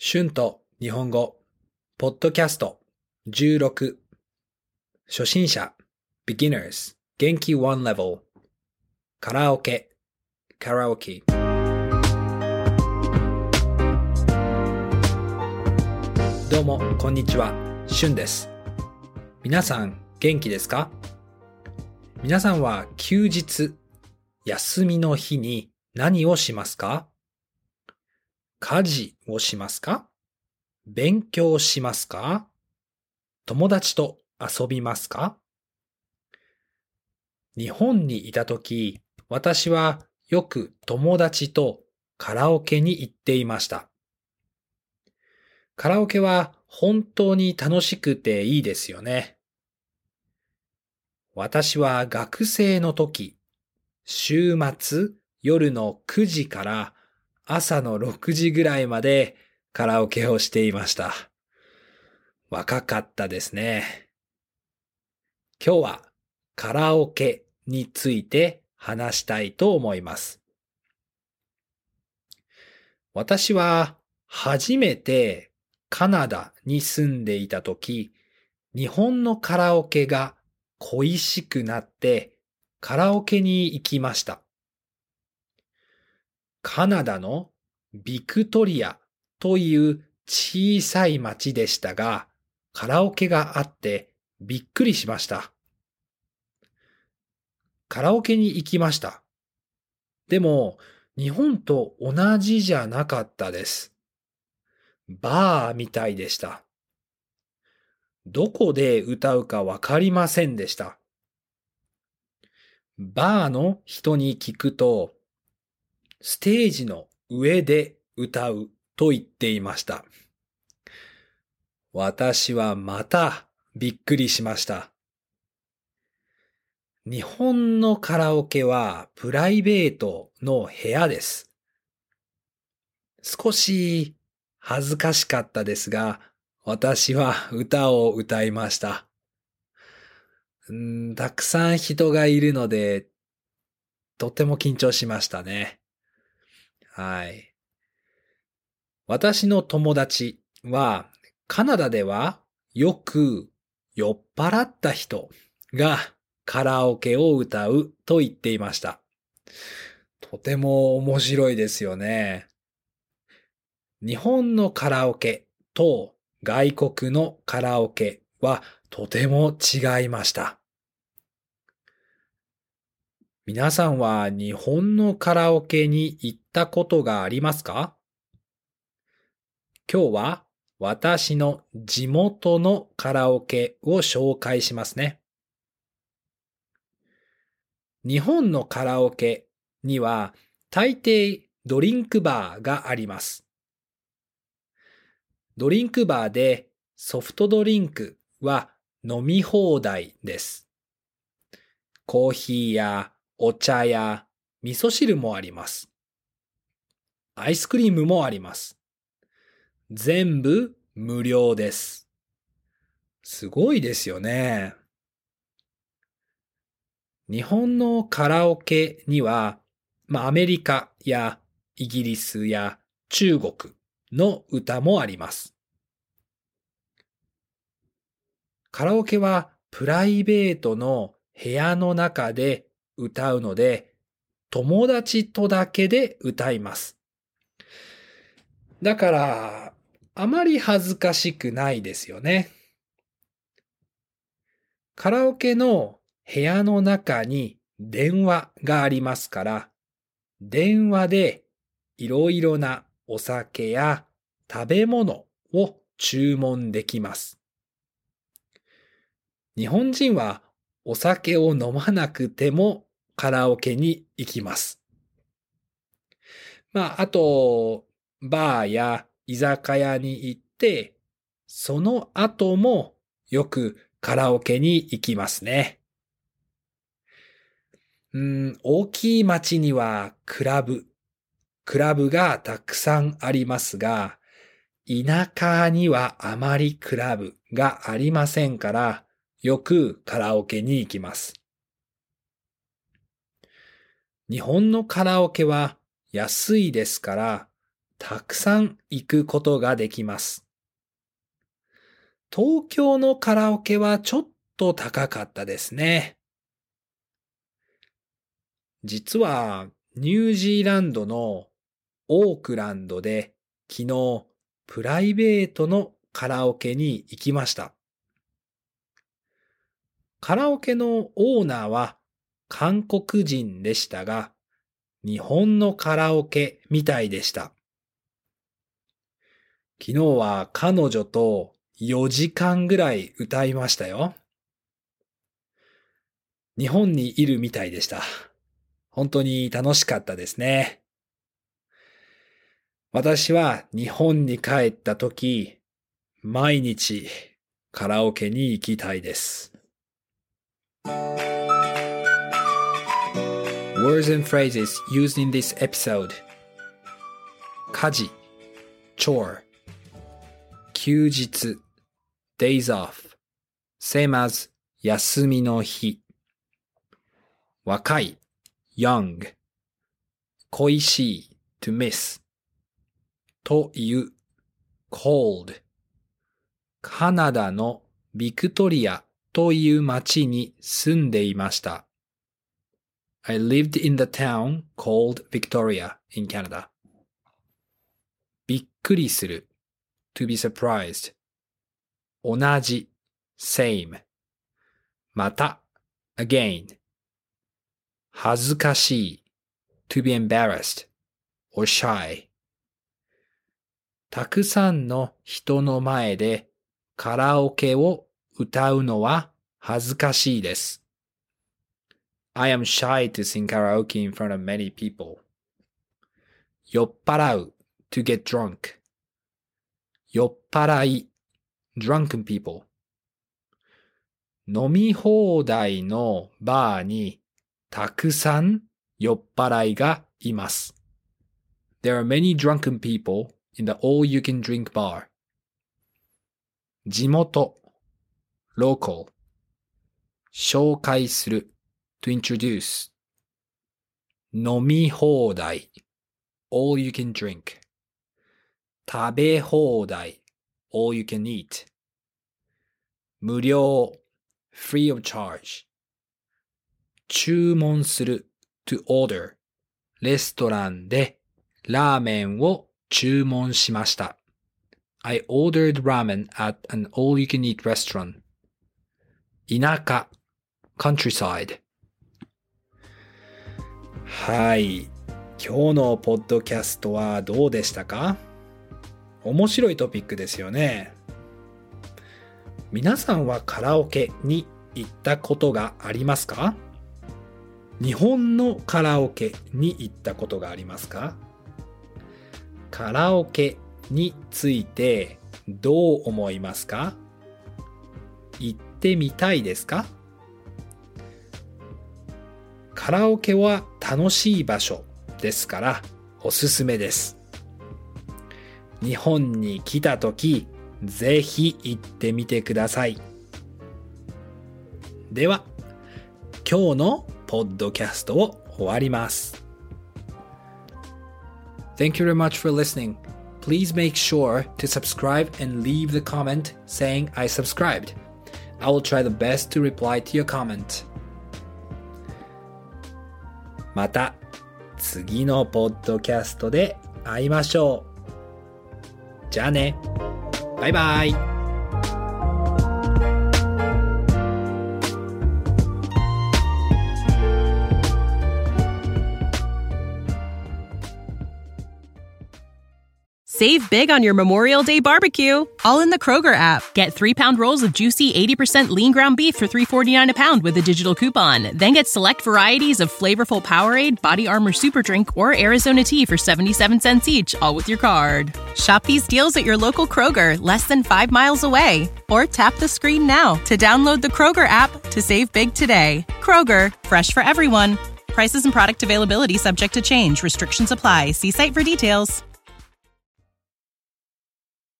春と日本語、ポッドキャスト16、初心者、beginners、元気 one level、カラオケ、カラオケ。どうも、こんにちは、春です。皆さん、元気ですか？皆さんは休日、休みの日に何をしますか？家事をしますか？勉強しますか？友達と遊びますか？日本にいたとき、私はよく友達とカラオケに行っていました。カラオケは本当に楽しくていいですよね。私は学生の時、週末夜の9時から朝の6時ぐらいまでカラオケをしていました。若かったですね。今日はカラオケについて話したいと思います。私は初めてカナダに住んでいたとき、日本のカラオケが恋しくなってカラオケに行きました。カナダのビクトリアという小さい町でしたが、カラオケがあってびっくりしました。カラオケに行きました。でも、日本と同じじゃなかったです。バーみたいでした。どこで歌うかわかりませんでした。バーの人に聞くと、ステージの上で歌うと言っていました。私はまたびっくりしました。日本のカラオケはプライベートの部屋です。少し恥ずかしかったですが、私は歌を歌いました。たくさん人がいるので、とても緊張しましたね。はい。私の友達は、カナダではよく酔っ払った人がカラオケを歌うと言っていました。とても面白いですよね。日本のカラオケと外国のカラオケはとても違いました。皆さんは日本のカラオケに行ったことがありますか？今日は私の地元のカラオケを紹介しますね。日本のカラオケには大抵ドリンクバーがあります。ドリンクバーでソフトドリンクは飲み放題です。コーヒーやお茶や味噌汁もあります。アイスクリームもあります。全部無料です。すごいですよね。日本のカラオケには、アメリカやイギリスや中国の歌もあります。カラオケはプライベートの部屋の中で歌うので、友達とだけで歌います。だから、あまり恥ずかしくないですよね。カラオケの部屋の中に電話がありますから、電話でいろいろなお酒や食べ物を注文できます。日本人はお酒を飲まなくてもカラオケに行きます。あと、バーや居酒屋に行って、その後もよくカラオケに行きますね。大きい町にはクラブがたくさんありますが、田舎にはあまりクラブがありませんから、よくカラオケに行きます。日本のカラオケは安いですから、 たくさん行くことができます。東京のカラオケはちょっと高かったですね。実はニュージーランドのオークランドで昨日プライベートのカラオケに行きました。カラオケのオーナーは韓国人でしたが、日本のカラオケみたいでした。昨日は彼女と4時間ぐらい歌いましたよ。日本にいるみたいでした。本当に楽しかったですね。私は日本に帰ったとき、毎日カラオケに行きたいです。Words and phrases used in this episode. 家事 chore 休日 days off same as 休みの日若い young 恋しい to miss という cold カナダのビクトリアという町に住んでいました。I lived in the town called Victoria in Canada. びっくりする to be surprised 同じ same また again 恥ずかしい to be embarrassed or shy たくさんの人の前でカラオケを歌うのは恥ずかしいです。I am shy to sing karaoke in front of many people. 酔っ払う to get drunk. 酔っ払い drunken people. 飲み放題のバーにたくさん酔っ払いがいます。There are many drunken people in the all-you-can-drink bar. 地元 local. 紹介するto introduce 飲み放題 all you can drink 食べ放題 all you can eat 無料 free of charge 注文する to order レストランでラーメンを注文しました I ordered ramen at an all you can eat restaurant 田舎 countrysideはい。今日のポッドキャストはどうでしたか？面白いトピックですよね。皆さんはカラオケに行ったことがありますか？日本のカラオケに行ったことがありますか？カラオケについてどう思いますか？行ってみたいですか？カラオケは楽しい場所ですからおすすめです。日本に来たとき、ぜひ行ってみてください。では、今日のポッドキャストを終わります。Thank you very much for listening. Please make sure to subscribe and leave the comment saying I subscribed. I will try the best to reply to your comment. また次のポッドキャストで会いましょう。じゃあね。バイバイ。 Save big on your Memorial Day barbecue, all in the Kroger app. Get 3-pound rolls of juicy 80% lean ground beef for $3.49 a pound with a digital coupon. Then get select varieties of flavorful Powerade, Body Armor Super Drink, or Arizona tea for 77 cents each, all with your card. Shop these deals at your local Kroger, less than 5 miles away. Or tap the screen now to download the Kroger app to save big today. Kroger, fresh for everyone. Prices and product availability subject to change. Restrictions apply. See site for details.